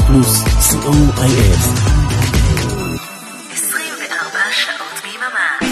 פלוס, co.il. 24 שעות ביממה.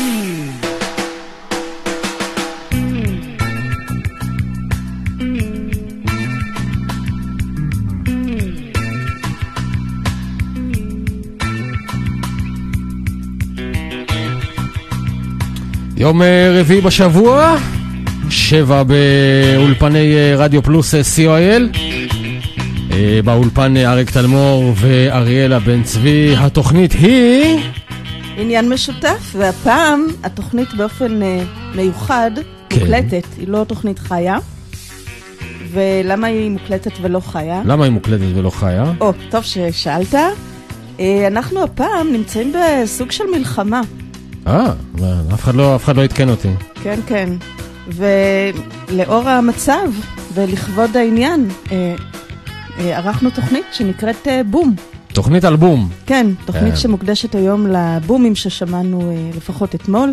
יום רביעי בשבוע, 7 באולפני רדיו פלוס co.il. באולפן אריק תלמור ואריאלה בן צבי. התוכנית היא עניין משותף, והפעם התוכנית באופן מיוחד מוקלטת, היא לא תוכנית חיה. ולמה היא מוקלטת ולא חיה? למה היא מוקלטת ולא חיה? טוב ששאלת. אנחנו הפעם נמצאים בסוג של מלחמה. אף אחד לא התקן אותי. כן, כן. ולאור המצב ולכבוד העניין, ערכנו תוכנית שנקראת בום. תוכנית על בום. כן, תוכנית שמוקדשת היום לבומים ששמענו לפחות אתמול.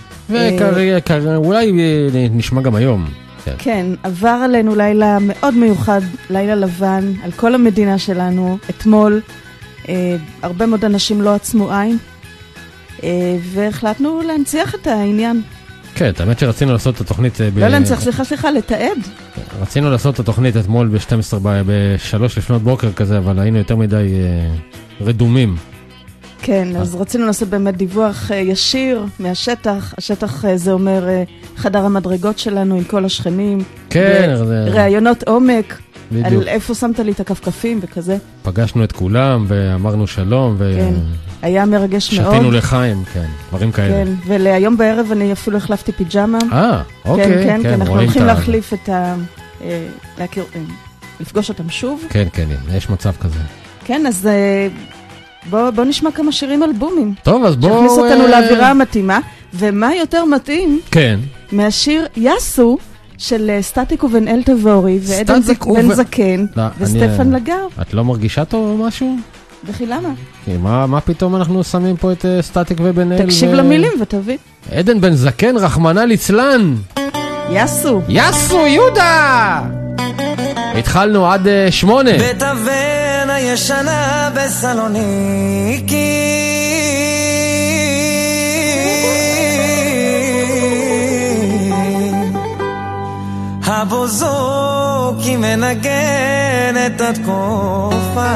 ואולי נשמע גם היום. כן, עבר עלינו לילה מאוד מיוחד, לילה לבן, על כל המדינה שלנו, אתמול. הרבה מאוד אנשים לא עצמו עין, והחלטנו להנציח את העניין. כן, האמת שרצינו לעשות את התוכנית... לא להנציח, סליחה, לתעד. רצינו לעשות את התוכנית אתמול ב-3 לפנות בוקר כזה, אבל היינו יותר מדי רדומים. כן, אז רצינו לעשות באמת דיווח ישיר מהשטח. השטח זה אומר חדר המדרגות שלנו עם כל השכנים. כן. ראיונות עומק. בדיוק. על איפה שמת לי את הכפכפים וכזה. פגשנו את כולם ואמרנו שלום. כן, היה מרגש מאוד. שתינו לחיים, כן, דברים כאלה. כן, ולהיום בערב אני אפילו החלפתי פיג'מה. אוקיי. כן, כן, אנחנו הולכים להחליף את לפגוש אותם שוב. כן, יש מצב כזה. כן, אז בוא נשמע כמה שירים אלבומים. טוב, אז בוא... שהכניס אותנו לאווירה המתאימה, ומה יותר מתאים? כן. מהשיר יסו, של סטטיק ובן אל תבורי, ועדן בן זקן, וסטפן לגר. את לא מרגישה טוב או משהו? וכי למה? מה פתאום אנחנו שמים פה את סטטיק ובן אל? תקשיב למילים ותביא. עדן בן זקן, רחמנא ליצלן. יסו יהודה! התחלנו עד 8. בתוון הישנה בסלוניקי, הבוזוקי מנגן את התקופה,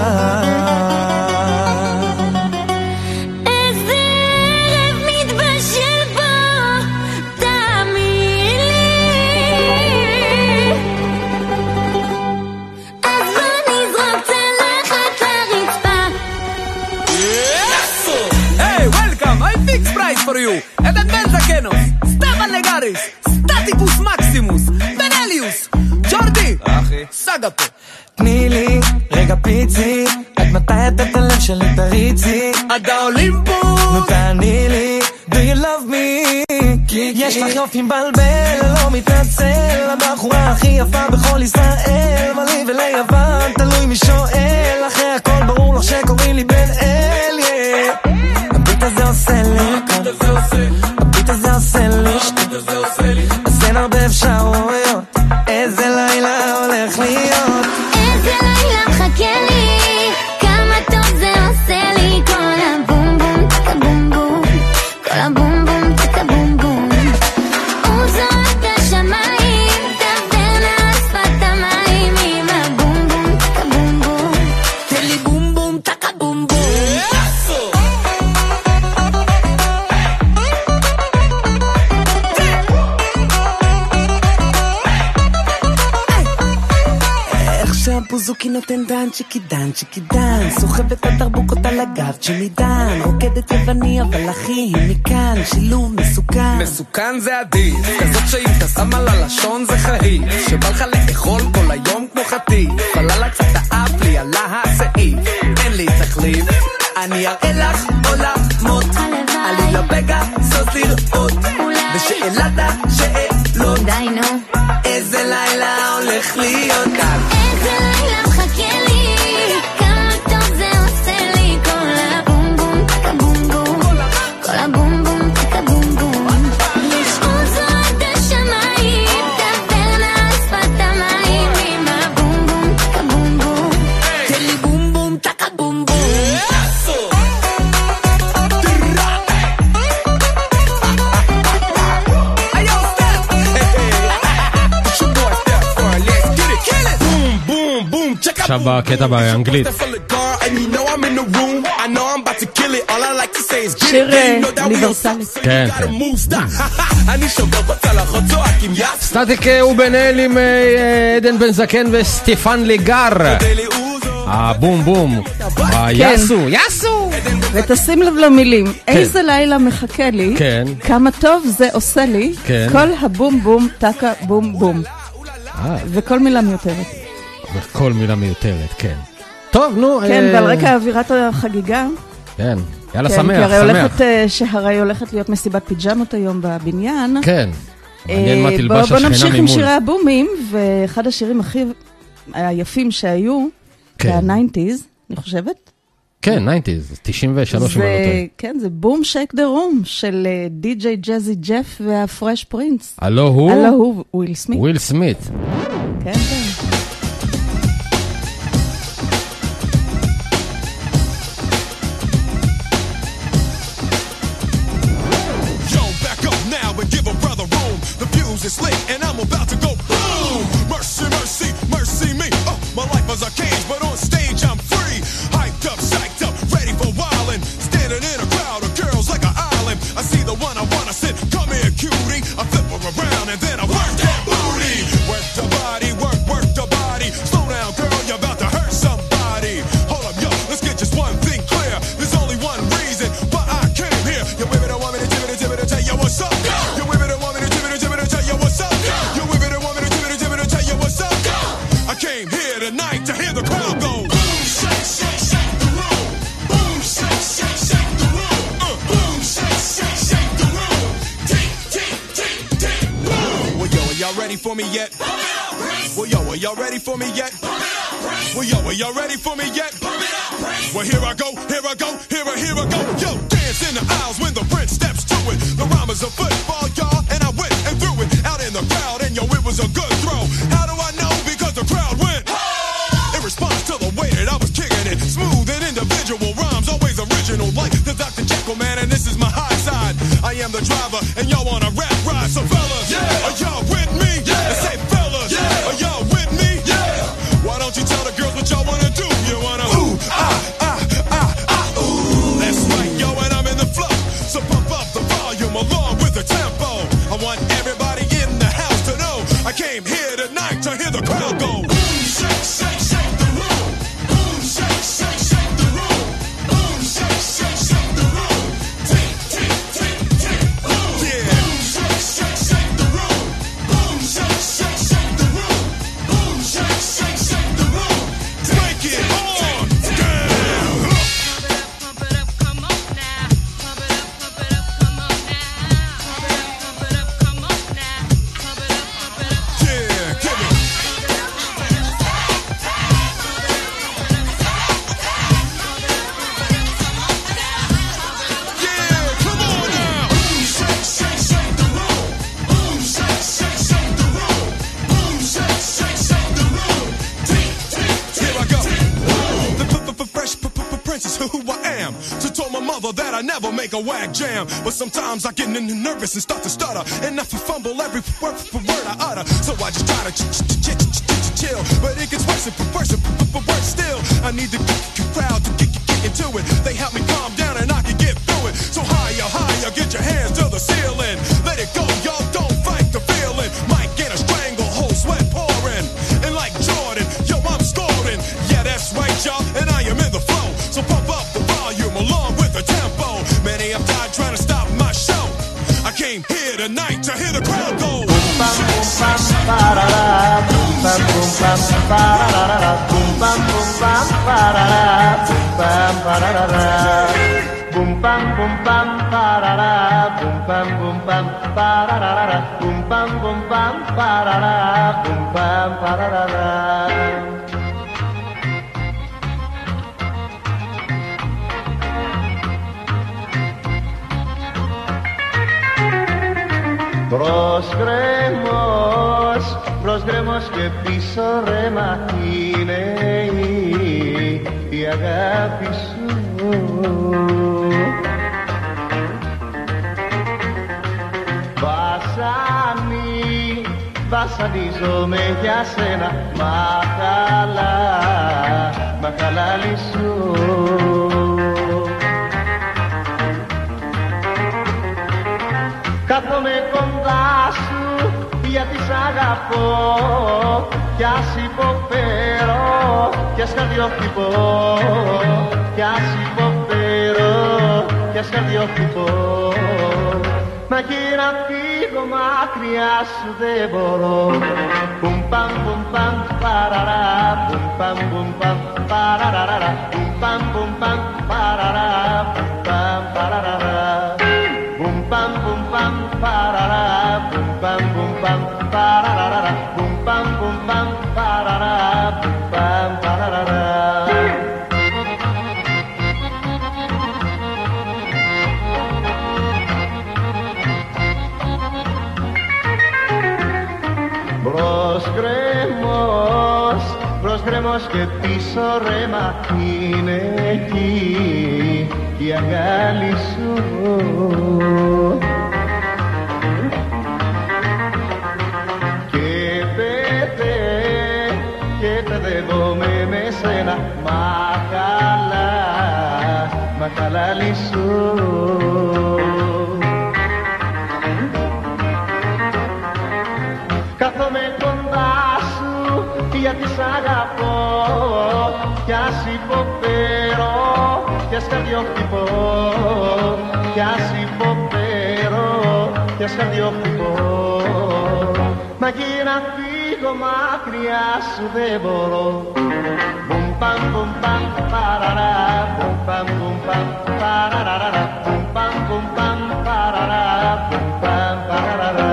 איזה ערב מתבשל בו, תאמין לי, אז בוא נזרוק צלחת לרצפה. Hey, welcome, I fix price for you. עדן בן זקנוס, סטפן לגריס, סטטיקוס מקסימוס, בנליוס, ג'ורדי, סגה פה. תני לי רגע פיצי, עד מתי את הלב שלי תריצי, עד האולימפוס. נו תעני לי, do you love me? יש לך יופי מבלבל, לא מתנצל, הבחורה הכי יפה בכל ישראל, מה לי וליוון, תלוי מי שואל, אחרי הכל ברור לך שקוראים לי בן אל. הביט הזה עושה לי, הביט הזה עושה לי, אז אין הרבה אפשרויות, איזה לילה הולך להיות, איזה לילה מחכה לי, כמה טוב זה עושה לי, כל הבום בום תקה בום בום, כל הבום בום תקה בום בום, הוא זורק לשמיים, תעבר על שפת המים, עם הבום בום תקה בום בום, תן לי בום בום תקה בום בום. בוזוקי נותן דן צ'יקי דן, סוחבת הדרבוקות על הגב צ'מידן, רוקדת יווני אבל אחי היא מכאן, שילוב מסוכן זה עדיף, כזאת שאם אתה שם על הלשון זה חהי, שבא לך לאכול כל היום כמו חטיף, פללה קצת האף לי עלה הסעיף, אין לי תחליף, אני אראה לך עולמות, עלי לבגע זאת לראות, ושאלת השאלות, איזה לילה הולך להיות כאן, איזה לילה מחכה לי, כמה טוב זה עושה לי, כל הבום בום תקה בום בום, כל הבום בום תקה בום בום, יש עוזו עד השמיים, תעבר על שפת המים, עם הבום בום תקה בום בום, תן לי בום בום תקה עכשיו בקטע באנגלית. שיר אוניברסלי. כן, כן. סטטיק הוא בן-אל עם עדן בן זקן וסטיפן לגר. הבום בום. יסו, יסו. ותשים לב למילים, איזה לילה מחכה לי, כמה טוב זה עושה לי, כל הבום בום טקה בום בום. וכל מילה מיותרת. וכל מילה מיותרת, כן. טוב, נו. כן, ועל רקע אווירת החגיגה. כן, יאללה שמח, שמח. שהרי הולכת להיות מסיבת פיג'מות היום בבניין. כן, מעניין מה תלבש השכנה ממול. בוא נמשיך עם שירי הבומים, ואחד השירים הכי היפים שהיו, ה-90s, אני חושבת. כן, 90s, 93 אם אני לא טועה. כן, זה בום שייק דה רום של די.ג'יי ג'זי ג'ף והפרש פרינס. הלו הוא? הלו הוא, וויל סמית. וויל סמית. כן, כן. It's lit and I'm about to go boom. Mercy, mercy, mercy me. My life was a cage, but on stage I'm free. Hyped up, psyched up, ready for wildin'. Standing in a crowd of girls like an island. I see the one I wanna sit. Come here, cutie. I flip her around and then I work that booty. Work the body, work the body. Slow down, girl, you're about to hurt somebody. Hold up, yo, let's get just one thing clear. There's only one reason why I came here. You women don't want me to tell you what's up. You women don't want me to tell you what's up. You women don't want me to tell you what's up. I came here tonight to hear the crowd go. Boom, shake, shake, shake the room. Boom, shake, shake, shake the room. Boom, shake, shake, shake the room. Tick, tick, tick, tick, boom. Well, yo, are y'all ready for me yet? Well, yo, are y'all ready for me yet? Well, yo, are y'all ready for me yet? Well, here I go, here I go, here I go. Yo, dance in the aisles when the prince steps to it. The rhyme is a football, y'all, and I went and threw it out in the crowd, and yo, it was a good throw. How do I know? Because the crowd went in response to the way that I was kicking it. Smooth and individual rhymes, always original, like the Dr. Jekyll man, and this is my high side. I am the driver, and y'all want a rap ride, so fellas, are y'all with me? And say fellas, are y'all with me? Why don't you tell the girls what y'all wanna do? You wanna ooh, ooh. That's right, yo, and I'm in the flow, so pump up the volume along with the tempo. I want everybody in the house to know I came here tonight to hear the crowd go. Boom, shake, shake, shake the room. Boom, shake, shake, shake the room. Boom, shake, shake, shake the room. Tick, tick, tick, tick, boom. Yeah. Boom, shake, shake, shake the room. Boom, shake, shake, shake the room. Boom, shake, shake, shake the room. Break it on down. Pump it up, come on now. Pump it up, come on now. Pump it up, come on now. Pump it up. Yeah, give it. Yeah, come on now. Boom, shake, shake, shake the room. Boom, shake, shake, shake the room. Boom, shake, shake, shake the room. Tick, tick, tick. Here I go. The fresh prince is who I am. So told my mother that I never make a whack jam. But sometimes I get nervous and start to stutter, and I fumble every word I utter. So I just try to chill, but it gets worse and worse still. I need the crowd to get into it. They help me calm down and I can get through it. So higher, higher, get your hands to the ceiling. Let it go, y'all, don't fight the feeling. Might get a stranglehold, sweat pouring. And like Jordan, yo, I'm scoring. Yeah, that's right, y'all, and I am in the flow. So pump up the volume along with the tempo. Many have died trying to stop my show. I came here tonight to hear the crowd go. Προσγρέμος και πίσω ρέμα είναι η αγάπη σου. Βασάνι βασανίζομαι για σένα. Μα χαλαλίσου. Κάθομαι κοντά σου γιατί σ' αγαπώ κι ας υποφέρω κι ας καρδιοχτυπώ κι ας υποφέρω κι ας καρδιοχτυπώ. Μα και να φύγω μακριά σου δεν μπορώ. Πουμ παμ πουμ παμ παραρά, πουμ παμ πουμ παμ παραραρα, πουμ παμ πουμ παμ παραρά, πουμ παμ παραραρα. Πουμ παμ πουμ παμ παραρά, πουμ παμ πουμ παμ παραραρα, πουμ παμ πουμ παμ παραρά, πουμ παμ παραραρα. Μπρος γκρέμος και πίσω ρέμα είναι εκεί η αγκάλι σου. Και παιδεύομαι με σένα, μα χαλάλι σου. Κάθομαι κοντά σου γιατί σ' αγαπώ κι ας υποφέρω κι ας καρδιοχτυπώ κι ας υποφέρω κι ας καρδιοχτυπώ. Μα και να φύγω μακριά σου δεν μπορώ. Πουμ παμ πουμ παμ παραρά, πουμ παμ πουμ παμ παραραρα, πουμ παμ πουμ παμ παραρά, πουμ παμ παραραρα.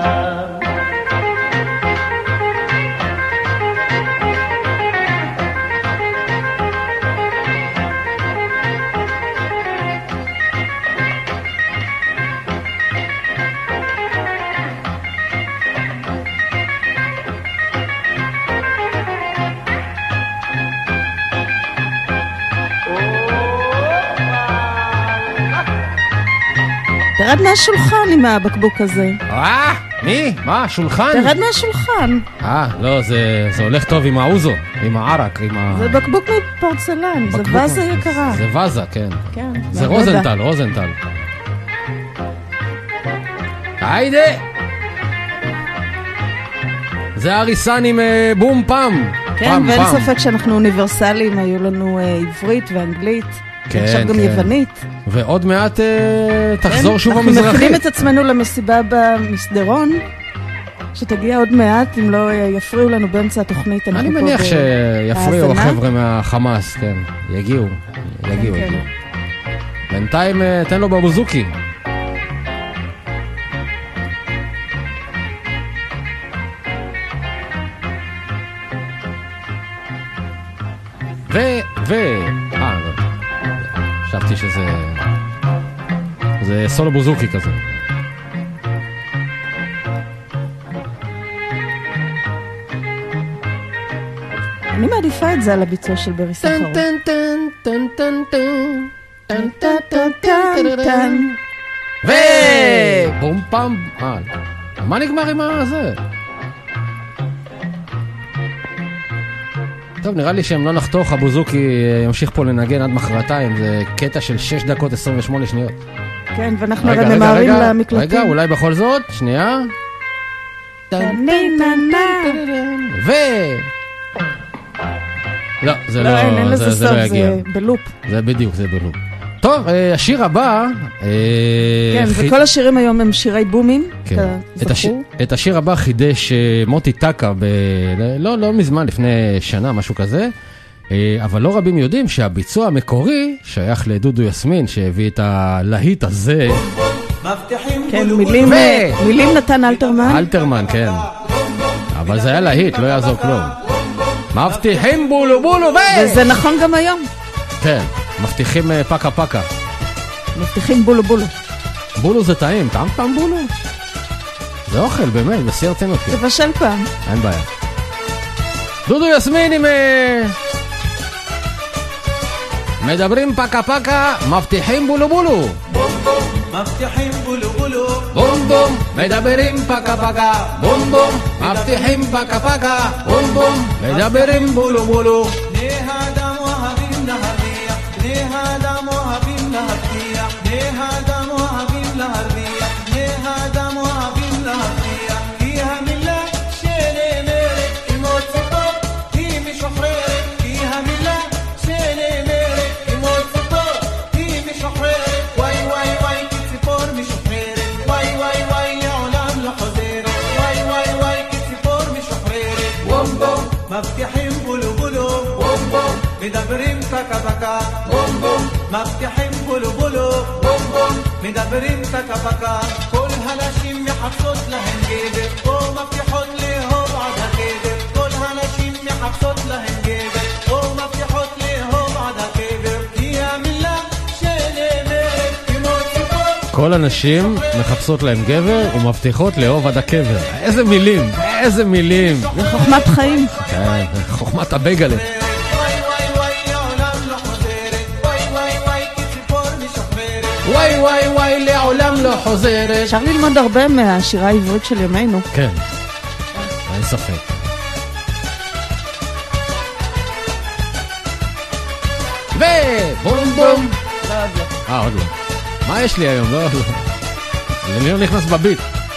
תרד מהשולחן עם הבקבוק הזה. מי? מה? שולחן? תרד מהשולחן. לא, זה הולך טוב עם האוזו, עם הערק, עם ה... זה בקבוק מפורצלן, זה וזה יקרה. זה וזה, כן. כן. זה רוזנטל. היידה! זה אריסן עם בום פם. כן, ואין ספק שאנחנו אוניברסליים, היו לנו עברית ואנגלית. עכשיו גם יוונית. ועוד מעט תחזור שוב המזרחית. אנחנו מכינים את עצמנו למסיבה במסדרון, שתגיע עוד מעט, אם לא יפריעו לנו באמצע התוכנית. אני מניח שיפריעו החבר'ה מהחמאס, כן. יגיעו. בינתיים תן לו בבוזוקי. חשבתי שזה סולו בוזוקי כזה. אני מעדיפה את זה על הביצוע של ברי סחרוף. בום פם. מה נגמר עם הזה? טוב, נראה לי שהם לא נחתוך, הבוזוקי ימשיך פה לנגן עד מחרתיים, זה קטע של 6 דקות 28 שניות. כן, ואנחנו הרי ממהרים למקלטים. רגע, אולי בכל זאת, שנייה. לא, זה לא אין לזה סוף, זה בלופ. זה בדיוק, זה בלופ. טוב, השיר הבא... כן, וכל השירים היום הם שירי בומים, זכו. את השיר הבא חידש מוטי טקה, לא מזמן, לפני שנה, משהו כזה, אבל לא רבים יודעים שהביצוע המקורי שייך לדודו יסמין, שהביא את הלהיט הזה. כן, מילים נתן אלתרמן. אלתרמן, כן. אבל זה היה להיט, לא יעזור כלום. מבטיחים בולו בולו וזה נכון גם היום. כן. מבטיחים פקה פקה. מבטיחים בולו בולו. בולו זה טעים, טעם בולו. זה אוכל, באמת, בשיא הרצינות. זה בשל פעם. אין בעיה. דודו יסמין עם... מדברים פקה פקה, מבטיחים בולו בולו. מבטיחים בולו בולו. בום בום, מדברים פקה פקה, בום בום, מבטיחים פקה פקה, בום בום, מדברים בולו בולו. בני האדם אוהבים להרוויח, בני האדם אוהבים להבטיח, בני האדם אוהבים להרוויח, בני האדם אוהבים להבטיח, כי המילה שנאמרת כמו ציפור היא משוחררת, כי המילה שנאמרת כמו ציפור היא משוחררת, וואי וואי וואי כציפור משוחררת, וואי וואי וואי לעולם לא חוזרת, וואי וואי וואי כציפור משוחררת, בום בום מבטיחים בולו בולו, בום בום מדברים פקה פקה, בום בום מבטיחים בולו בולו, בום בום מדברים פקה פקה, כל הנשים מחפשות להן גבר, או מבטיחות לאהוב עד הקבר, כל הנשים מחפשות להן גבר, או מבטיחות לאהוב עד הקבר, כי המילה שנאמרת כמו ציפור. כל הנשים מחפשות להם גבר ומבטיחות לאהוב עד הקבר. איזה מילים, איזה מילים. זה חוכמת חיים. כן, חוכמת הבייגלה. וואי וואי וואי לעולם לא חוזרת, וואי וואי וואי כציפור משוחררת. וואי וואי וואי לעולם לא חוזרת. אפשר ללמוד הרבה מהשירה העברית של ימינו. כן, אין ספק. ובום בום. עוד לא. מה יש לי היום? לא. אני לא נכנס בביט.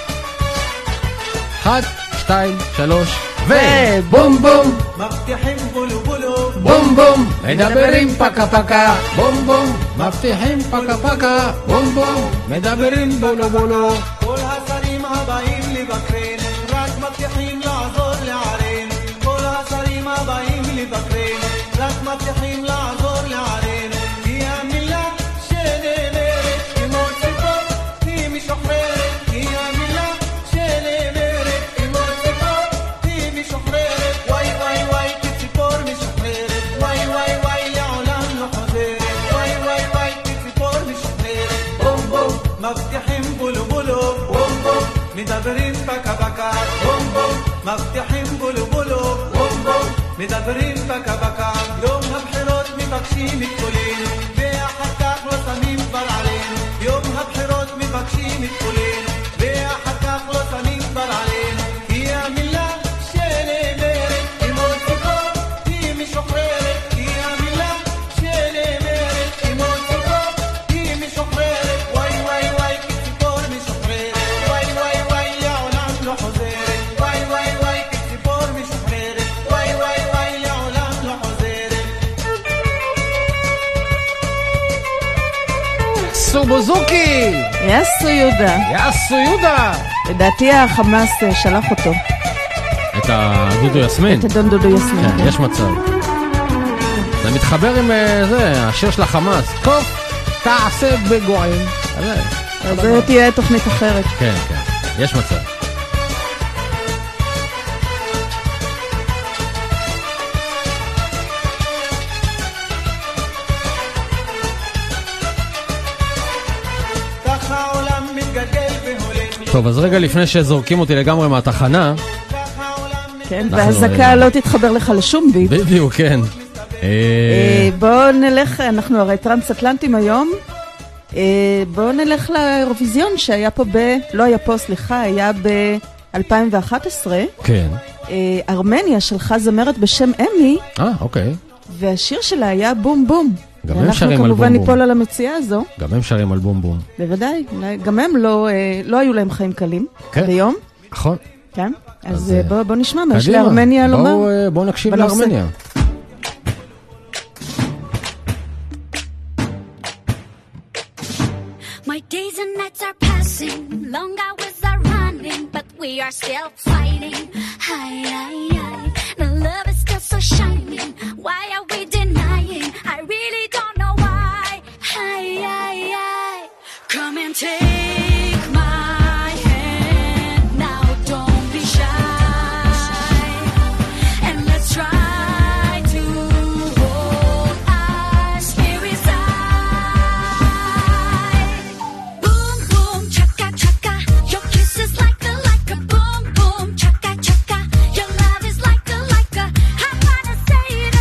1, 2, 3 ובום בום. מבטיחים בולו בולו, בום בום, מדברים פקה פקה, בום בום, מבטיחים פקה פקה, בום בום, מדברים בולו בולו. כל השרים הבאים לבקרן, רק מבטיחים לעזור לערן, כל השרים הבאים לבקרן, רק מבטיחים לעזור לערן, כי המילה שנאמרת כמו ציפור היא משוחררת, כי המילה שנאמרת כמו ציפור היא משוחררת, וואי וואי וואי כציפור משוחררת, וואי וואי וואי לעולם לא חוזרת, וואי וואי וואי כציפור משוחררת, בום בום מבטיחים בולו בולו, בום בום מדברים פקה פקה, בום בום מבטיחים בולו בולו, בום בום מדברים פקה פקה, יום הבחירות מבקשים את כולנו, ואחר כך לא שמים כבר עלינו, יום הבחירות מבקשים את כולנו, ואחר כך לא שמים כבר עלינו, כי המילה שנאמרת כמו ציפור היא משוחררת, כי המילה שנאמרת כמו ציפור היא משוחררת, וואי וואי וואי כציפור משוחררת, וואי וואי וואי לעולם לא חוזרת, וואי וואי וואי כציפור משוחררת, וואי וואי וואי לעולם לא חוזרת. סובוזוקי! יסו יהודה. יסו יהודה! לדעתי החמאס שלח אותו. את הדודו יסמין? את הדון דודו יסמין. כן, יש מצב. זה מתחבר עם זה, השיר של החמאס. קוף, תעשה בגועים. אז זה תהיה תוכנית אחרת. כן, כן, יש מצב. ככה העולם מתגלגל והולך, טוב, אז רגע לפני שזורקים אותי לגמרי מהתחנה, ככה העולם כן, אנחנו- והזקה לא תתחבר לך לשום ביט. בדיוק, כן. בואו נלך, אנחנו הרי טרנס-אטלנטים היום, בואו נלך לאירוויזיון שהיה פה לא היה פה, סליחה, היה ב-2011. כן. ארמניה שלחה זמרת בשם אמי, אוקיי. והשיר שלה היה בום בום. גם הם שרים על ואנחנו כמובן בום בום. ניפול על המציאה הזו, גם הם שרים על בום בום. בוודאי, גם הם לא היו להם חיים קלים כן. ביום, נכון. כן? אז, אז בואו נשמע מה יש קדימה. לארמניה לומר. בואו נקשיב בנושא. לארמניה. My days and nights are passing, long hours are running, but we are still fighting. Hi, hi, hi. The love is still so shining. Why are we denying? I really don't know why. Hi, hi, hi. Come and take my hand now. Don't be shy, and let's try to hold our spirits high. Boom boom chaka chaka, your kiss is like a boom boom chaka chaka. Your love is like a. I wanna say it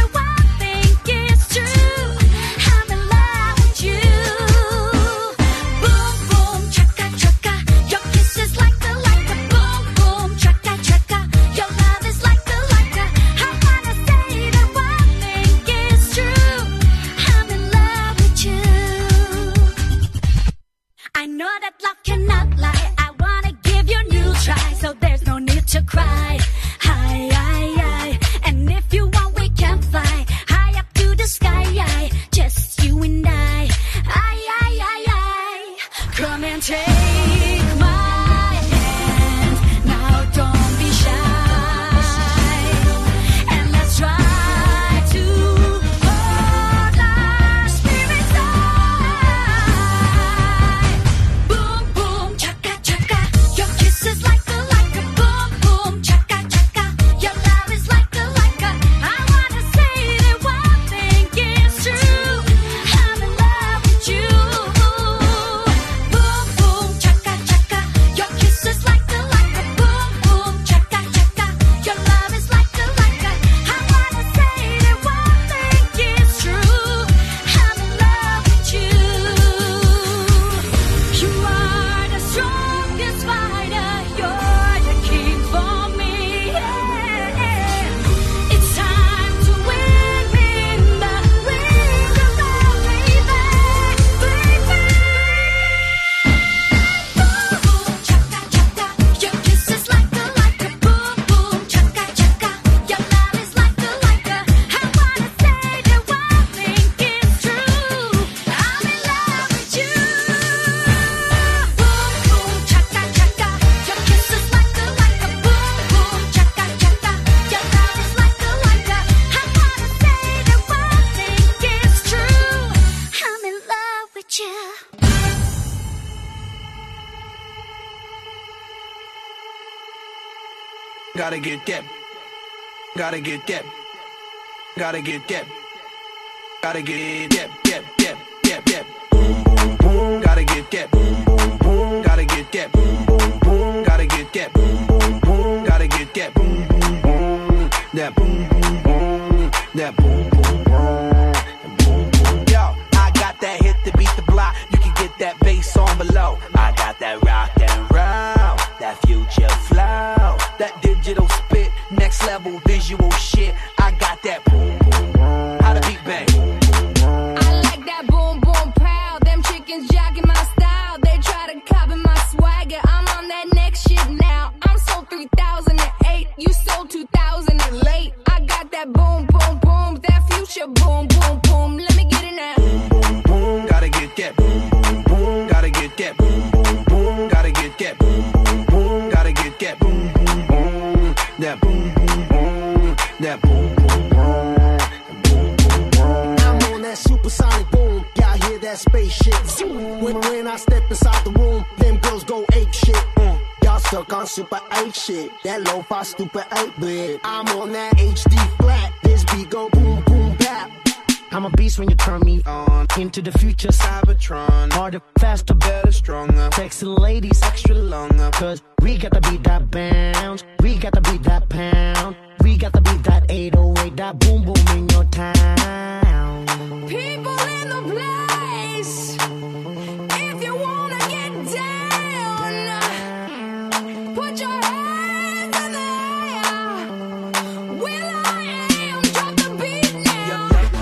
Gotta get that. Gotta get that. Gotta get that. Gotta get that. Boom, boom, boom. Gotta get that. Boom, boom, boom. Gotta get that. Boom, boom, boom. Gotta get that. Boom, boom, boom. Gotta get that. Boom, boom, boom. That boom, boom, boom. That boom, boom, boom. Yo, I got that hit to beat the block. You can get that bass on below. I got that rock and roll, that future flow, that digital spit, next level visual shit. I got that boom, boom, boom. How the beat bang? I like that boom boom pow. Them chickens jogging my style. They try to copy my swagger. I'm on that next shit now. I'm sold 3008. You sold 2000 and late. I got that boom boom boom. That future boom boom boom. Let me get it now. Boom, boom, boom. Gotta get that. Boom, boom, boom. Gotta get that. Boom, boom, boom. Gotta get that. Boom, boom, boom. Gotta get that. Boom, boom, boom. That boom, boom, boom. That boom, boom, boom. I'm on that supersonic boom. Y'all hear that spaceship? When I step inside the room, them girls go ape shit. Y'all stuck on super 8 shit. That lo-fi stupid 8-bit. I'm on that HD flat. This beat go boom boom bap. I'm a beast when you turn me on. Into the future, Cybertron. Harder, faster, better, stronger. Sexy ladies, extra longer. Cause we got to beat that bounce. We got to beat that pound. We got to beat that 808. That boom boom in your town. People in the place. If you wanna get down, put your hands in the air. Will I am, drop the beat now.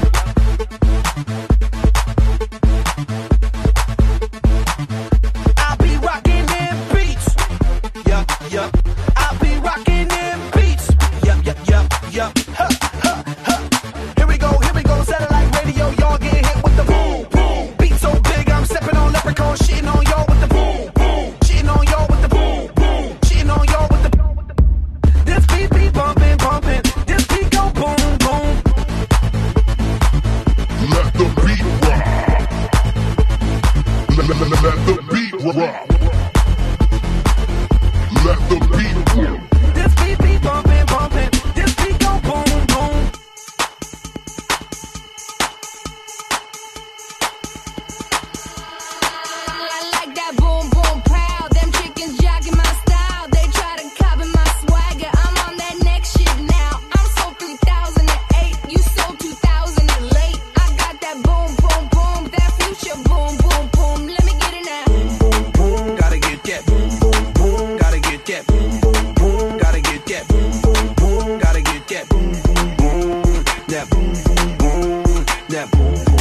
I'll be rocking them beats. Yup, yup. I'll be rocking them beats. Yup, yup, yup, yup. Ha, ha, ha. Here we go, satellite radio. Y'all get hit with the boom, boom. Beat so big, I'm stepping on leprechaun, shitting on y'all with the boom, boom. Shitting on y'all with the boom, boom. Shitting on y'all with the boom. This beat be bumping, bumping. This beat go boom, boom. Let the beat rock. Let the beat rock. Let the beat rock. This beat be bumping, bumping. This beat go boom, boom. I like that boom boom pow. Them chickens jogging my style. They try to copy my swagger. I'm on that next shit now. I'm sold 3008. You sold 2000 and late. I got that boom boom boom. That future boom boom boom. Let me get it now. Boom, boom, gotta get that. Boom, boom, boom, gotta get that. Boom, boom, boom, gotta get that. Boom, boom, boom, gotta get that. Boom, boom, boom, that boom, boom, boom, that boom, boom, boom, boom, boom, boom.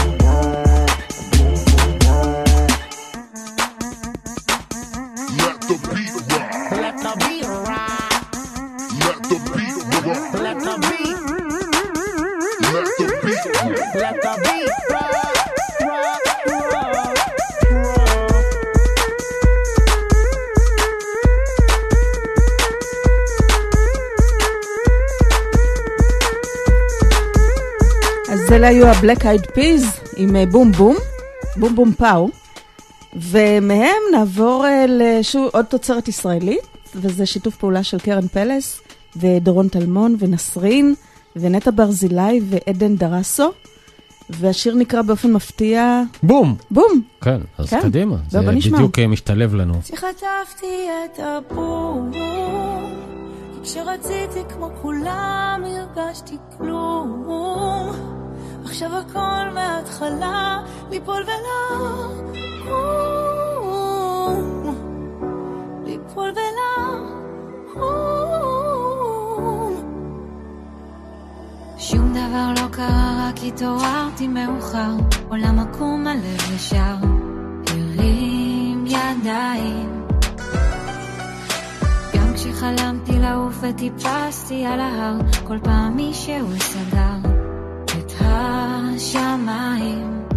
Let the beat rock. Let the beat rock. Let the beat rock. Let the beat. Let the beat rock. Let the beat rock. Rock, rock, rock. אז אלה היו הבלק אייד פיז עם בום בום, בום בום פאו, ומהם נעבור עוד תוצרת ישראלית, וזה שיתוף פעולה של קרן פלס, ודורון טלמון, ונסרין, ונטע ברזילי, ועדן דרסו, והשיר נקרא באופן מפתיע... בום! בום! כן, אז כן. קדימה, זה בוא נשמע. בדיוק משתלב לנו. שחטפתי את הבום, כשרציתי כמו כולם הרגשתי כלום, עכשיו הכל מההתחלה ליפול ולקום, ליפול ולקום. שום דבר לא קרה רק התעוררתי מאוחר, עולם עקום הלב ישר הרים ידיים, גם כשחלמתי לעוף וטיפסתי על ההר, כל פעם מישהו סגר את השמיים.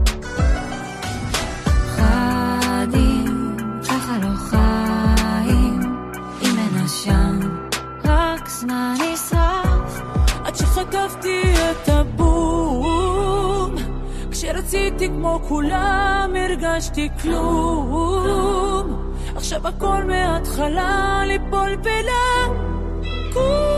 חדים, ככה לא חיים, אם אין עשן, רק זמן נשרף. עד שחטפתי את הבום, כשרציתי כמו כולם הרגשתי כלום, עכשיו הכל מההתחלה ליפול ולקום.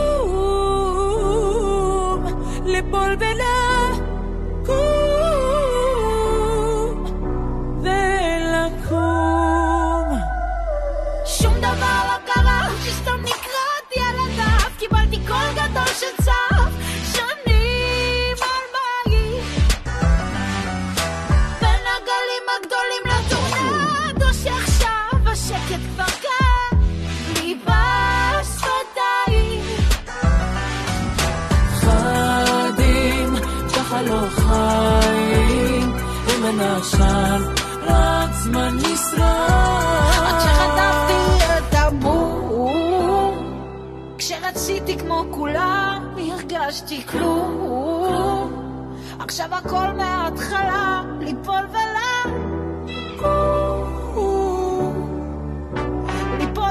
הלא חיים עם הנשן רק זמן נשרף עד שחטפתי את הבום כשרציתי כמו כולם הרגשתי כלום עכשיו הכל מההתחלה ליפול ליפול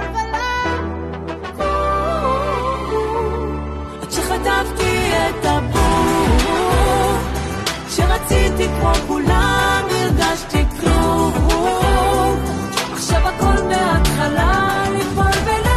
עד שחטפתי את הבום כשרציתי כמו כולם הרגשתי כלום עכשיו הכל מההתחלה ליפול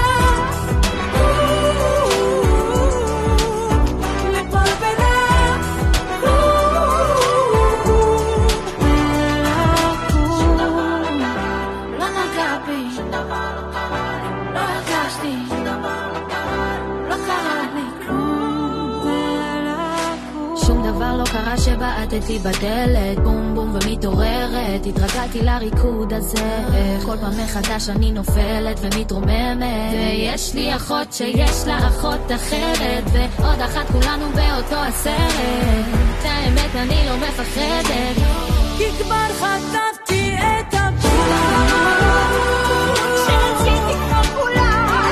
שבעטתי בדלת, בום בום ומתעוררת התרגלתי לריקוד הזה כל פעם מחדש אני נופלת ומתרוממת ויש לי אחות שיש לה אחות אחרת ועוד אחת כולנו באותו הסרט את האמת אני לא מפחדת כי כבר חטפתי את הבום כשרציתי כמו כולם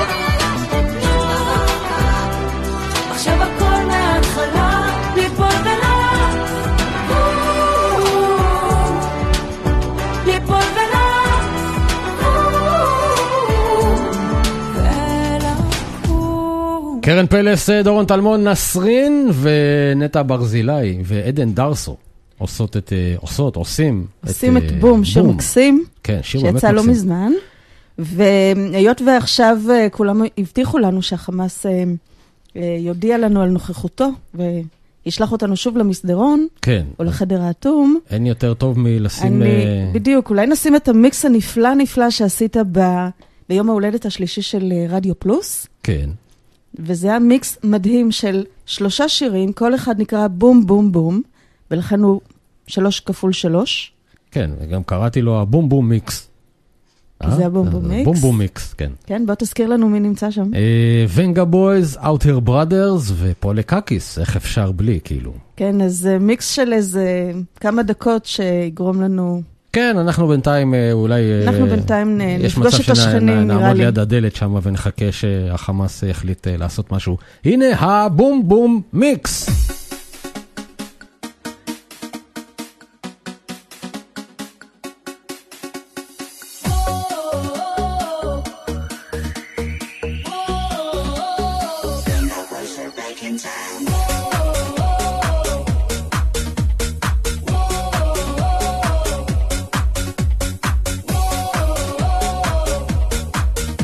עכשיו הכל מההתחלה ליפול קרן פלס, דורון טלמון, נסרין ונטע ברזילי ועדן דרסו עושים את בום, שיר מקסים, כן, שיר באמת שיצא מקסים. לא מזמן, והיות ועכשיו כולם הבטיחו לנו שהחמאס יודיע לנו על נוכחותו, וישלח אותנו שוב למסדרון, כן. או לחדר האטום. אין יותר טוב מלשים... בדיוק, אולי נשים את המיקס הנפלא שעשית ביום ההולדת השלישי של רדיו פלוס. כן. וזה היה מיקס מדהים של 3 שירים, כל אחד נקרא בום בום בום, ולכן הוא 3 כפול 3. כן, וגם קראתי לו הבום בום מיקס. זה הבום בום מיקס? בום בום מיקס, כן. כן, בוא תזכיר לנו מי נמצא שם. ונגה בויז, אאוטר בראדרס ופולה קקיס, איך אפשר בלי, כאילו. כן, אז מיקס של איזה כמה דקות שיגרום לנו... כן, אנחנו בינתיים אולי... אנחנו בינתיים נפגוש את השכנים, נראה לי. נעמוד ליד הדלת שם ונחכה שהחמאס יחליט לעשות משהו. הנה הבום בום מיקס.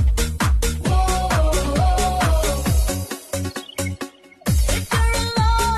If you're alone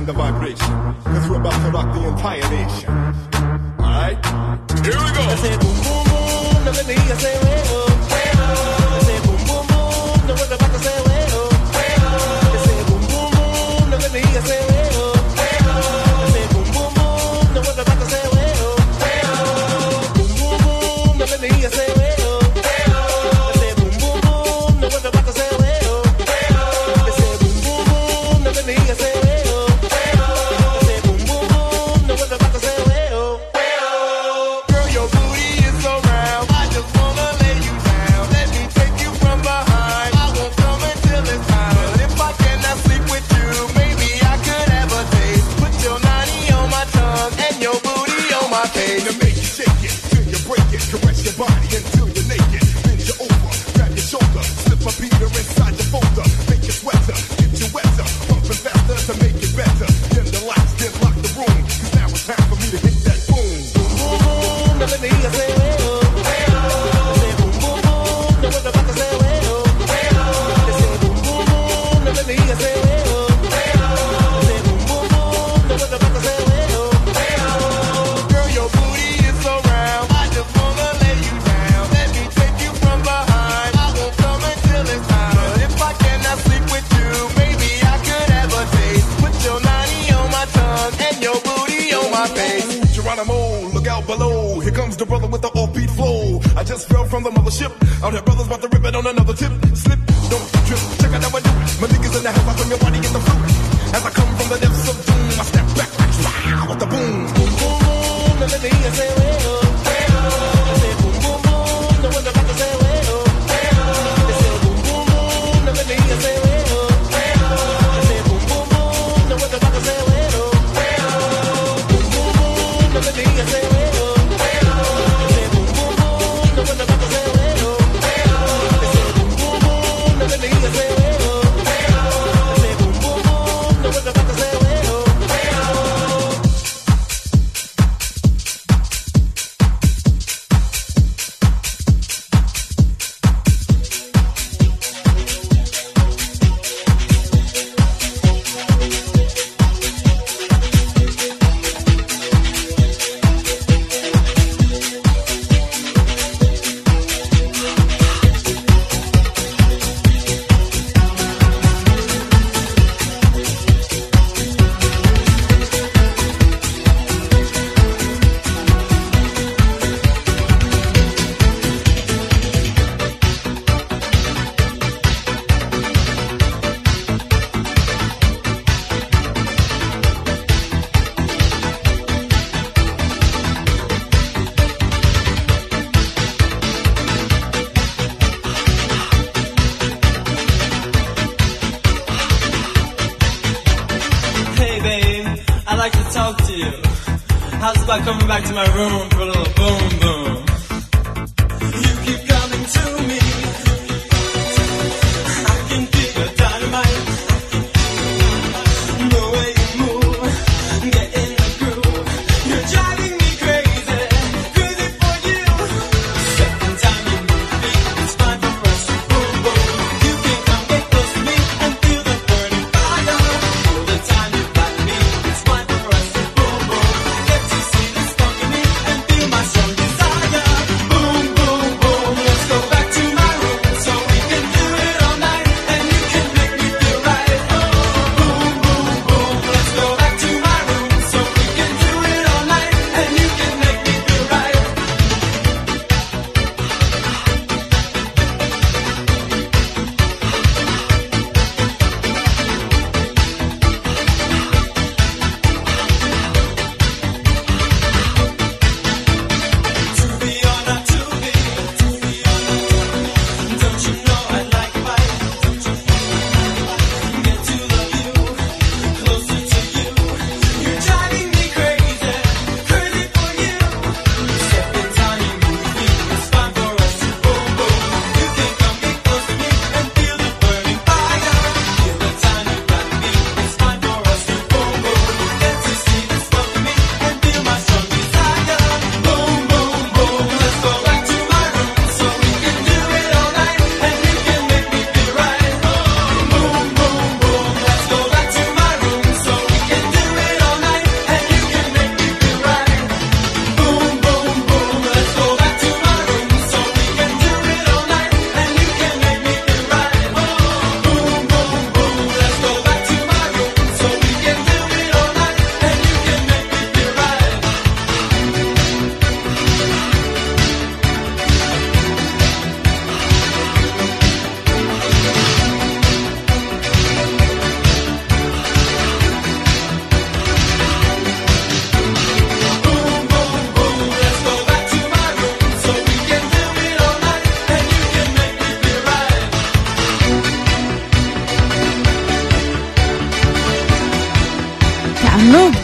the vibration. Cause we're about to rock the entire nation. Alright? Here we go. I say boom, boom, boom. Now let me hear you say, way oh. I say boom, boom, boom. Now we're about to say, way oh. I say boom, boom, boom. Now let me hear you say, way oh. I say boom, boom, boom. Now we're about to say, way oh. Boom, boom, boom. Now let me hear you say, way oh. I say boom, boom, boom. Now we're about to say, way oh. I say boom, boom, boom. Now let me hear you say, way oh. I say boom, boom, boom. Now we're about to say, way oh. Girl, your booty is so round. I just wanna lay you down. Let me take you from behind. I won't come until it's time. But if I cannot sleep with you, maybe I could have a taste. Put your nanny on my tongue and your booty on my face. To make you shake it, till you break it. Caress your body until you're naked. Bend you over, grab your shoulder. Slip a beater inside your folder. Make you sweater, get you wetter. Pumping faster to make it better. Dim the lights, then lock the room. Cause now it's time for me to hit that boom. Boom, boom, boom. Now let me hear you say, way oh. I say boom, boom, boom. Now we're about to say, way oh. I say boom, boom, boom. Now let me hear you say, way oh. I say boom, boom, boom. Now we're about to say, way oh. Girl, your booty is so round. I just wanna lay you down. Let me take you from behind. I won't come until it's time. But if I cannot sleep with you, maybe I could have a taste. Put your nanny on my tongue and your booty on my face. Geronimo, look out below. Here comes the brother with the offbeat flow. I just fell from the mothership. Out here, brothers about to rip it on another tip. Slip, don't trip. Check out how I do it. My niggas in the house, I from your body in the fruit. As I come from the depths of doom, I step back like wow with the boom. Boom, boom, boom. Now let me hear you say, way oh. I say boom, boom, boom. Now we're about to say, way oh. I say boom, boom, boom. Now let me hear you say, way oh. I say boom, boom, boom. Now we're about to say, way oh. Boom, boom, boom. Now let me hear you say, way oh. I say boom, boom, boom. Now we're about to say, way oh. I say boom, boom, boom. Now let me hear you say, way oh. I say boom, boom, boom. Now we're about to say, way oh. Hey babe, I'd like to talk to you. How's about coming back to my room for a little boom boom? You keep coming to me. I can feel your dynamite. The way you move, get in the groove. You're driving me crazy, crazy for you. Second time you move me, it's fine for us to boom boom. You can come get close to me and feel the burning fire. All the time you got me, it's fine for us to boom boom. Get to see the spark in me and feel my strong desire.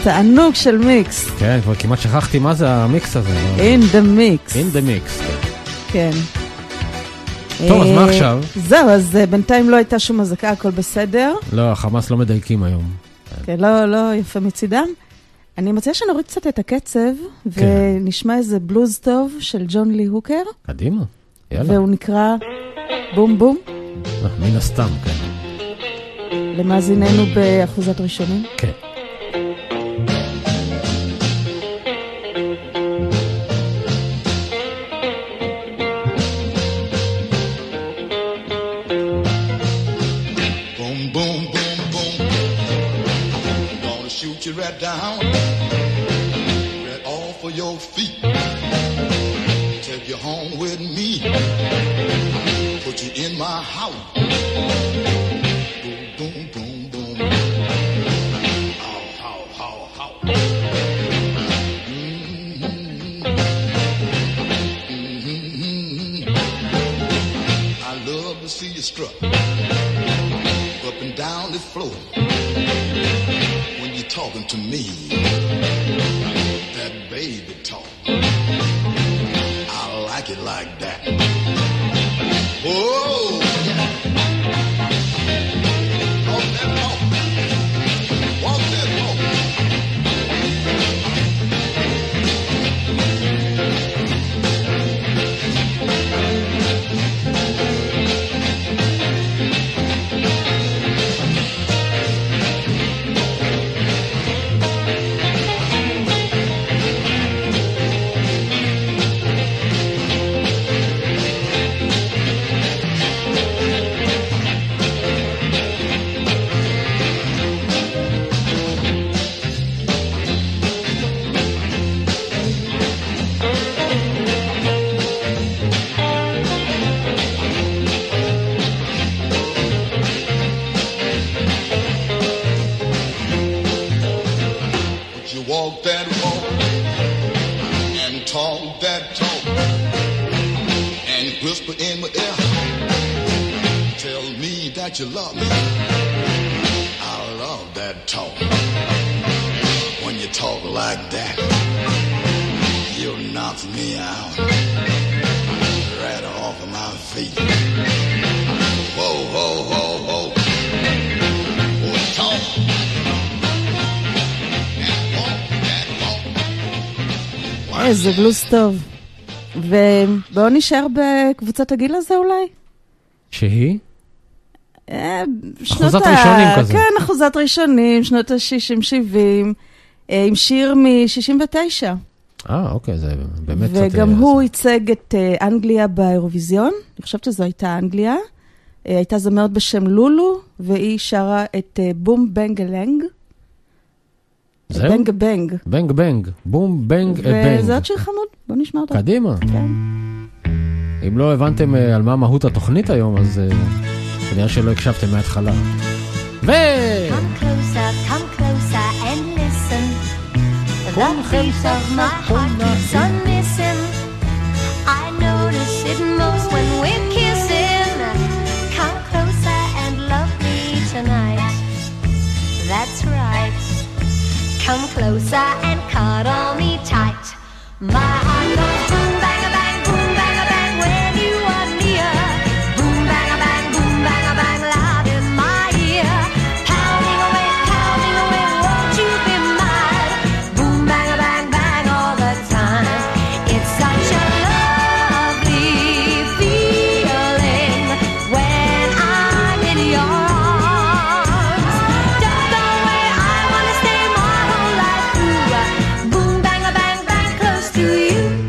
תענוג של מיקס. כן, כבר כמעט שכחתי מה זה המיקס הזה. In the mix. In the mix, כן. טוב, אז מה עכשיו? זהו, אז בינתיים לא הייתה שום הזקה, הכל בסדר. לא, החמאס לא מדייקים היום. כן, לא יפה מצידם. אני מציעה שנוריד קצת את הקצב, ונשמע איזה בלוז טוב של ג'ון לי הוקר. קדימה, יאללה. והוא נקרא בום בום. מן הסתם, כן. למאזיננו באחוזת ראשונים. כן. You right down, right off of your feet. Take you home with me. Put you in my house. Boom, boom, boom, boom. How, how, how, how. Mm-hmm. Mm-hmm. I love to see you strut up and down this floor. Talking to me, that baby talk. I like it like that. Whoa! Walk that talk. Walk that talk. Walk that walk and talk that talk and whisper in my ear. Tell me that you love me. I love that talk. When you talk like that, you knock me out right off of my feet. Whoa, whoa, whoa, whoa. Whoa, talk. איזה בלוז טוב. ובואו נשאר בקבוצת הגיל הזה אולי? שהיא? אחוזת ראשונים כזה. כן, אחוזת ראשונים, שנות ה-60-70, עם שיר מ-69. אוקיי, זה באמת וגם הוא ייצג את אנגליה באירוויזיון, אני חושבת שזו הייתה אנגליה. הייתה זמרת בשם לולו, והיא שרה את בום בנג אלנג. בנג בנג. בנג בנג. בום בנג בנג. וזה עוד שיר חמוד, בוא נשמע אותו. קדימה. כן. אם לא הבנתם על מה מהות התוכנית היום, אז כנראה שלא הקשבתם מההתחלה. Come closer, come closer and listen. The beat of my heart keeps on missing. I notice it most when we're kissing. Come closer and love me tonight. That's right. Come closer and cuddle me tight. My heart goes boom, bang, a bang, boom, bang, a bang when you are near. Boom, bang, a bang, loud in my ear. Pounding away, won't you be mine? Boom, bang, bang all the time. It's such a lovely feeling when I'm in your arms. Don't go away, I wanna stay my whole life through. Boom, bang, close to you.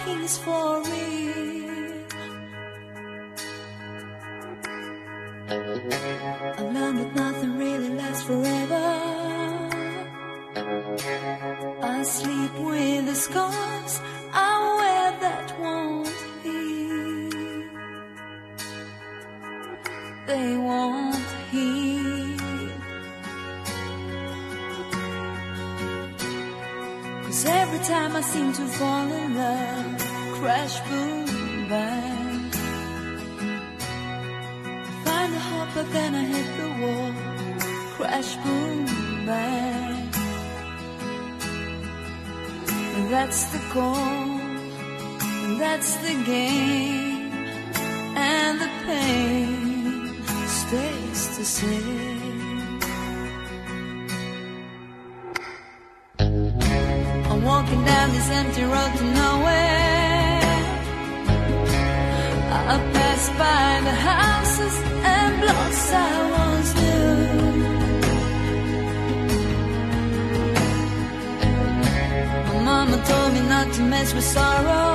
he's for real. I learned that nothing really lasts forever. I sleep with the scars I wear that won't heal. They won't heal. 'Cause every time I seem to fall in love, crash, boom, bang. Find a hope, but then I hit the wall, crash, boom, bang. And that's the goal, and that's the game, and the pain stays the same. I'm walking down this empty road to nowhere. I pass by the houses and blocks I once knew. My mama told me not to mess with sorrow,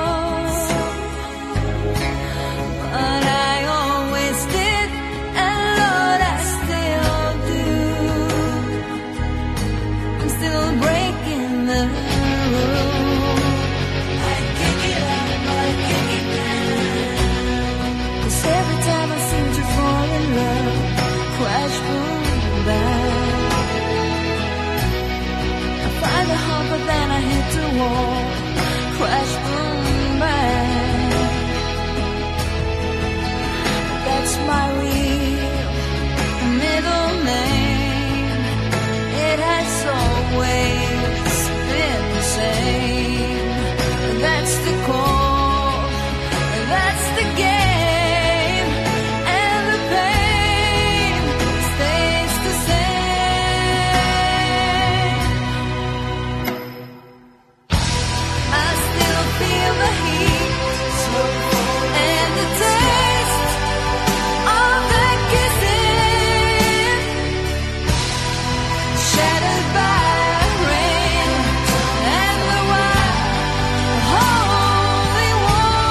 but I always did, and Lord, I still do. I'm still breaking the rules. I kick it up, I kick it down. 'Cause every time I seem to fall in love, crash, boom, bang. I find a hope, but then I hit the wall, crash, boom, bang. That's my real middle name. It has always been the same. That's the call, that's the game, and the pain stays the same. I still feel the heat and the taste of the kissing, shattered by rain and the wild holy war.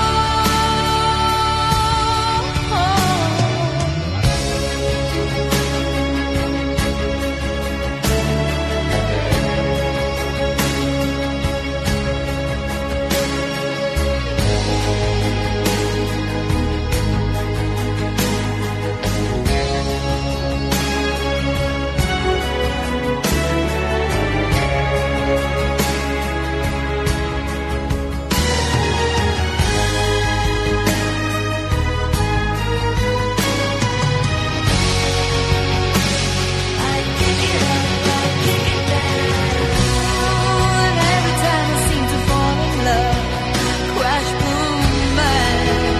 I kick it up, I kick it down. And every time I seem to fall in love, crash, boom, bang.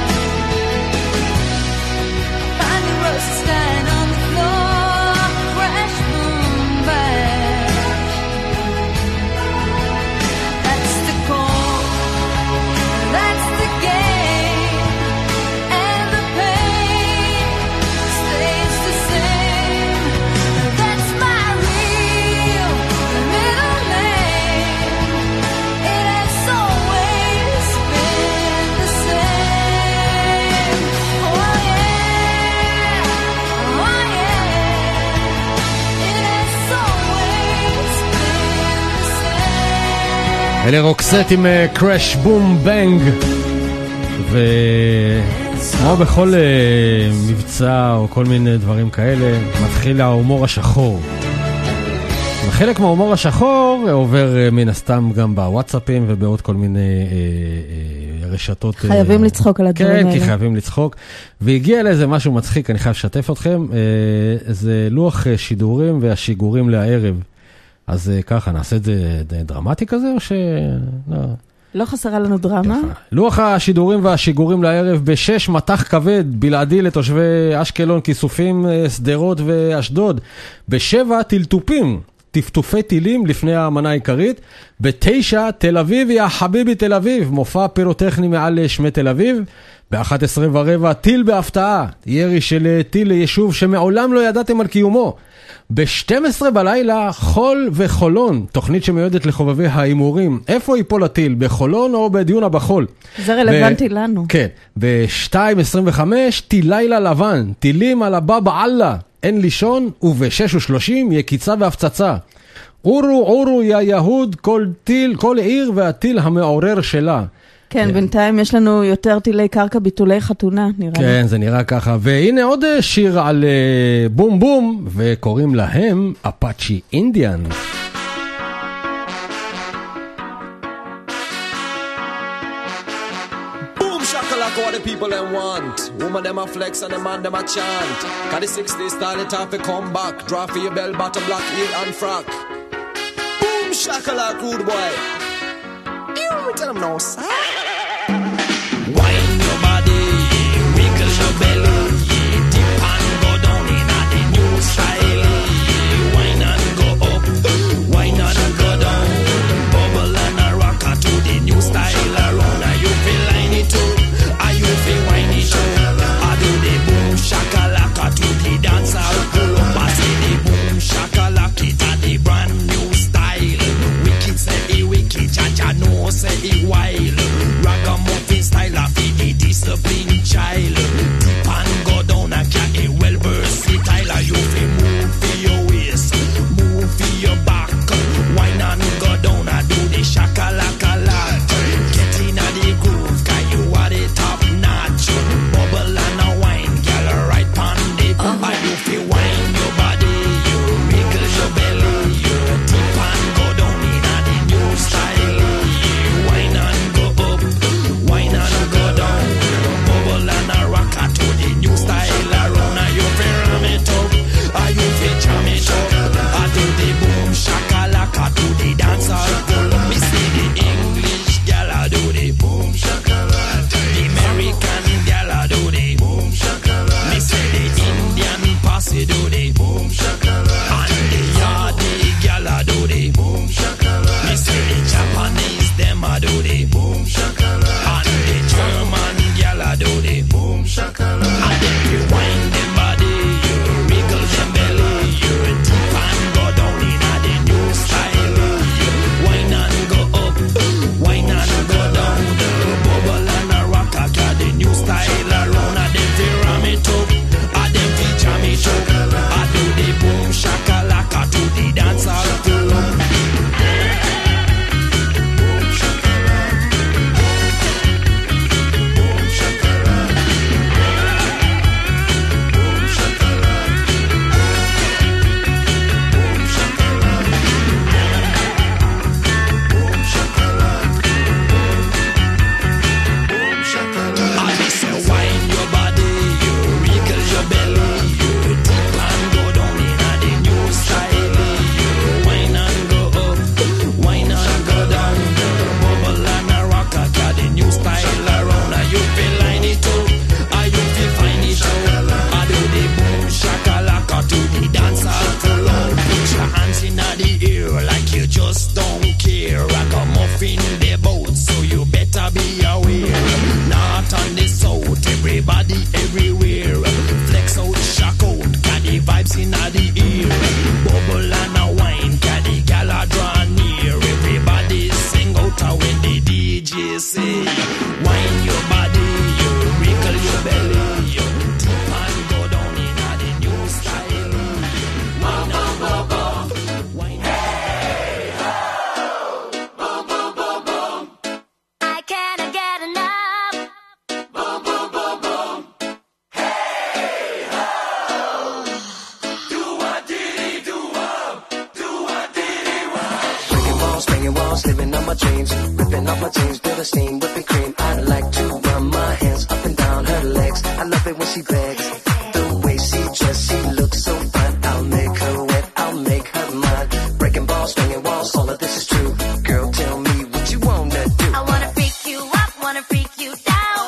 Find the roses dying on the floor, crash, boom, bang. That's the call, that's the game, and the pain stays the same. That's my real middle name. It has always been the same. Oh yeah, oh yeah. It has always been the same. אלה רוקסט עם קראש בום בנג, וכמו בכל מבצע או כל מיני דברים כאלה מתחיל ההומור השחור, וחלק מההומור השחור עובר מן הסתם גם בוואטסאפים ובעוד כל מיני רשתות. חייבים לצחוק על הדברים האלה. כן, כי חייבים לצחוק. והגיע לאיזה משהו מצחיק, אני חייב לשתף אתכם, זה לוח שידורים והשיגורים לערב. אז ככה, נעשה את זה דרמטי כזה או ש... לא חסרה לנו דרמה. לוח השידורים והשיגורים לערב בשש מטח כבד בלעדי לתושבי אשקלון, כיסופים, סדרות ואשדוד. בשבע טלטופים, טפטופי טילים לפני האמנה העיקרית. בתשע תל אביב, יא חביבי תל אביב, מופע פירוטכני מעל שמי תל אביב. ב-11:15 טיל בהפתעה, ירי של טיל ליישוב שמעולם לא ידעתם על קיומו. ב-12 בלילה חול וחולון, תוכנית שמיועדת לחובבי האימורים. איפה ייפול הטיל, בחולון או בדיונה בחול? זה רלוונטי לנו. כן, ב-2:25 טיל לילה לבן, טילים על הבא אללה, אין לישון, וב-6:30 יקיצה והפצצה. אורו יא יהוד, כל עיר והטיל המעורר שלה. כן, בינתיים יש לנו יותר טילי קרקע ביטולי חתונה, נראה לי. כן, זה נראה ככה. והנה עוד שיר על בום בום, וקוראים להם אפאצ'י אינדיאן. Boom shakalaka what the people them want. Woman them a flex and the man them a chant. Cause the 60s style it have to come back. Draw for your bell bottom black heel and frock. Boom shakalaka rude boy. You tell them no sir. Wine your body, wiggle your belly, dip and go down in a the new style. Wine and go up, wine and go down, bubble and a rock to the new style around. Are you feel line it up? Are you feel wine it up? I do the boom shakalaka to the dance I'll pull up. I say the boom shakalaka it a the brand new style. Wicked say it wicked, cha-cha no say it wild. Ragamuffin style of the discipline child. Dip and go down and get it well versatile. You feel move for your waist, move for your back. Wine and go down and do the shakalaka lot. Get in a the groove, cause you are the top notch. Bubble and a wine, girl right pon the and you feel wine your body, you wiggle your belly, you dip and go down in a the new style. Wine and go up, wine and go down, bubble and a rock to the new style around. Are you feel ram it up? Are you feel jam it up? I do the boom shakalaka to the dance hall full. Me see the English gal I do the boom shakalaka. The American gal I do the boom shakalaka. Me say the Indian posse do the boom shakalaka. And the Yardi gal I do the boom shakalaka. Me say the Japanese them I do the boom shakalaka. And the German gal I do the boom shakalaka. And then you wind them body, you wriggle them belly, you dip and go down in a the new style. You wine and go up, wine and go down, bubble and a rock at the new style around. And then they ram it up, and then they jam it up. I do the boom shakalaka to the dance hall full. Just don't care. Ragamuffin the boat, so you better be aware. Not on the south, everybody everywhere. Flex out, shock out, got the vibes in the ear. Bubble and a wine, got the gala draw near. Everybody sing out when the DJ say, wine your body, you wriggle your belly, you dip and go down in the new style. Wine and go go. Living on my dreams, ripping off my jeans, building steam, whipping cream. I like to run my hands up and down her legs. I love it when she begs, the way she dress, she looks so fine. I'll make her wet, I'll make her mine. Breaking balls, swinging walls, all of this is true. Girl, tell me what you wanna do. I wanna freak you up, wanna freak you down.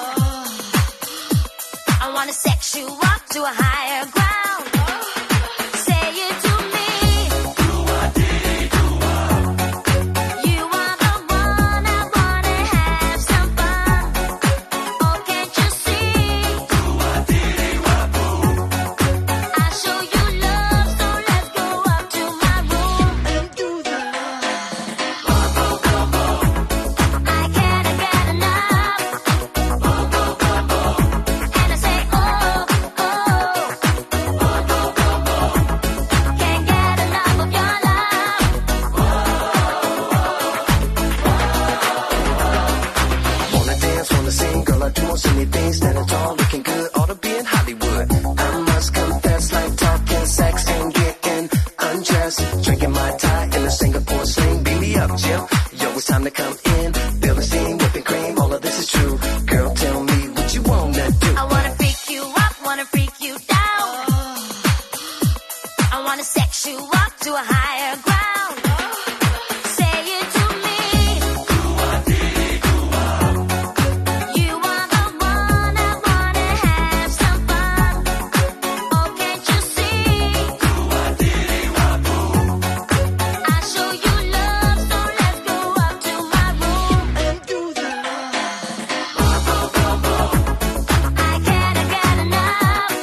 I wanna sex you up to a higher ground. Say it to me. You are the one I wanna have some fun. Oh, can't you see? on the scene, girl, I do most anything. Standing tall, looking good, ought to be in Hollywood. I must confess, like talking sex and getting undressed. Drinking my tie in a Singapore sling. Beat me up, Jim. Yo, it's time to come in. Feel the steam, whipping cream, all of this is true. Girl, tell me what you wanna do. I wanna freak you up, wanna freak you down. I wanna sex you up to a higher ground. Say it to me. You are the one I wanna have some fun. Oh, can't you see? I show you love, so let's go up to my room and do that. I can't get enough.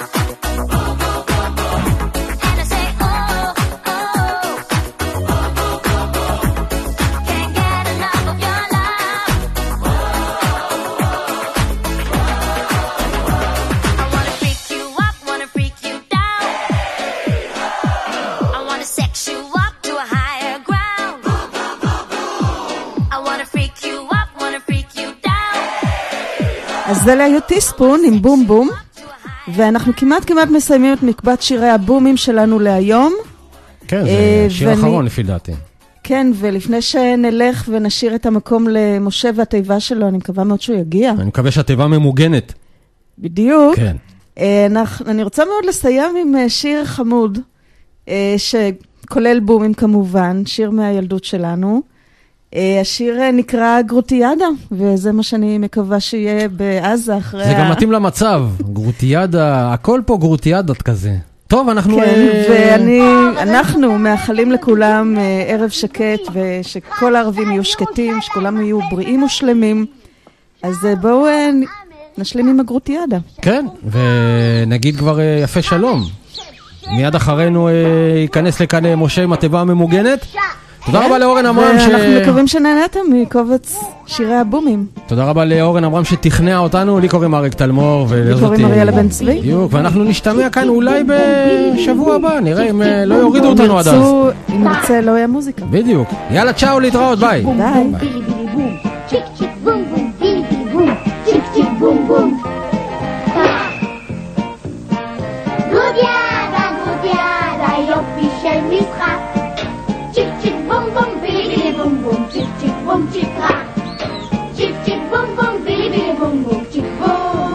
And I say, oh, oh. Can't get enough of your love. I wanna freak you up, wanna freak you down. I wanna sex you up to a higher ground. I wanna freak you up, wanna freak you down. אז זה היו טיספון עם בום בום, ואנחנו כמעט מסיימים את מקבץ שירי הבומים שלנו להיום. כן, זה שיר אחרון לפי דעתי. כן, ולפני שנלך ונשאיר את המקום למשה והתיבה שלו, אני מקווה מאוד שהוא יגיע. אני מקווה שהתיבה ממוגנת. בדיוק. כן. אני רוצה מאוד לסיים עם שיר חמוד, שכולל בומים כמובן, שיר מהילדות שלנו. השיר נקרא גרוטיאדה, וזה מה שאני מקווה שיהיה בעזה אחרי... זה גם מתאים למצב, גרוטיאדה, הכל פה גרוטיאדת כזה. טוב, אנחנו... כן, ואנחנו מאחלים לכולם ערב שקט, ושכל הערבים יהיו שקטים, שכולם יהיו בריאים ושלמים. אז בואו נשלים עם הגרוטיאדה. כן, ונגיד כבר יפה שלום. מיד אחרינו ייכנס לכאן משה עם התיבה הממוגנת. תודה רבה לאורן אמרם ואנחנו מקווים שנהנתם מקובץ שירי הבומים. תודה רבה לאורן אמרם שתכנע אותנו. לי קוראים אריק תלמור לי קוראים אריאלה בן צבי. בדיוק, ואנחנו נשתמע כאן אולי בשבוע הבא, נראה אם לא יורידו אותנו עד אז. אם נרצה לא יהיה מוזיקה. בדיוק, יאללה צ'או, להתראות, ביי. ביי. צ'יק צ'יק בום בום, בילי בילי בום, צ'יק צ'יק בום בום. גרוטיאדה, גרוטיאדה, יופי של משחק. צ'יק צ'יק בום בום, בילי בילי בום בום, צ'יק צ'יק בום צ'יק רע. צ'יק צ'יק בום בום, בילי בילי בום בום, צ'יק בום.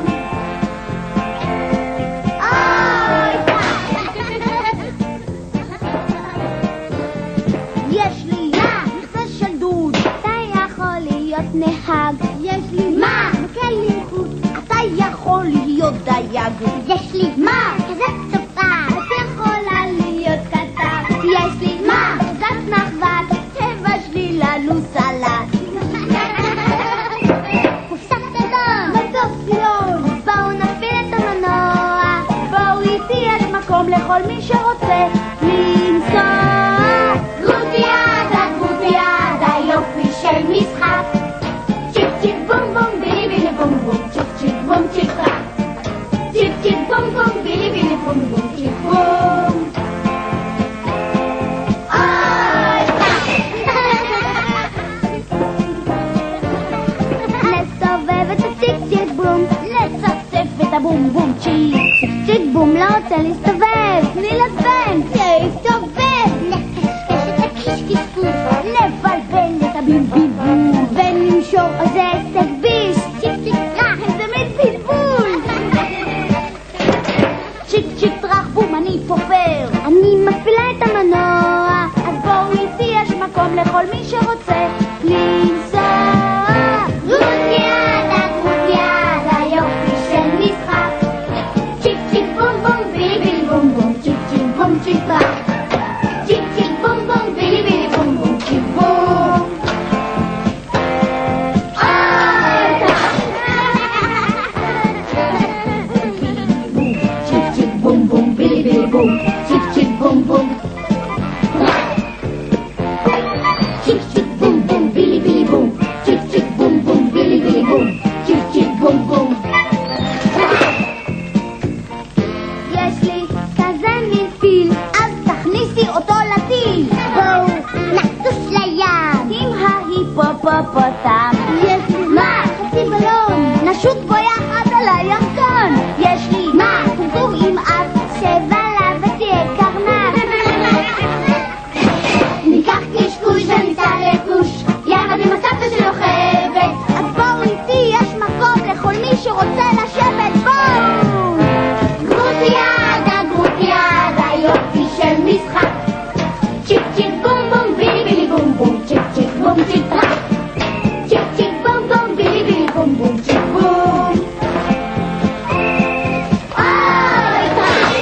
יש לי מכסה של דוד, אתה יכול להיות נהג. יש לי מה? מקל עם חוט, אתה יכול להיות דייג. יש לי מה? כזה צופה, את יכולה להיות קטר. יש לי מה? קצת נחבד, תבשלי לנו סלט. קופסת אדום, מטוס פיון, בואו נפעיל את המנוע. בואו איתי, יש מקום לכל מי שרוצה לנסוע. גרוטיאדה, גרוטיאדה, יופי של משחק. צ'יק צ'יק בום בום, בילי בילי בום בום, צ'יק צ'יק בום צ'יק רע. צ'יק צ'יק בום בום, בילי בילי בום בום, צ'יק בום. לסובב את הצ'יק צ'יק בום, לצפצף את הבום בום צ'יק. צ'יק צ'יק בום לא רוצה להסתובב, תני לסבן, שיסתובב. לקשקש את הקישקשקוש, לבלבל את הבימביבול, ולמשור איזה הישג ביש. צ'יק צ'יק טרח, איזה מין בלבול. צ'יק צ'יק טרח בום, אני פופר, אני מפעילה את המנוע. אז בואו איתי, יש מקום לכל מי שרוצה לנסוע. גרוטיאדה, גרוטיאדה, יופי של משחק. צ'יק צ'יק בום בום, בילי בילי בום בום, צ'יק צ'יק בום צ'יק טרח. צ'יק צ'יק בום בום, בילי בילי בום בום, צ'יק בום. צ'יק צ'יק בום בום, בילי בילי בום, צ'יק צ'יק בום בום. צ'יק צ'יק בום בום, בילי בילי בום, צ'יק צ'יק בום בום, בילי בילי בום, צ'יק צ'יק בום בום. יש לי כזה מין פיל, אז תכניסי אותו לטיל. בואו נטוס לים עם ההיפופופוטם. יש לי מה? חצי בלון. jukebox.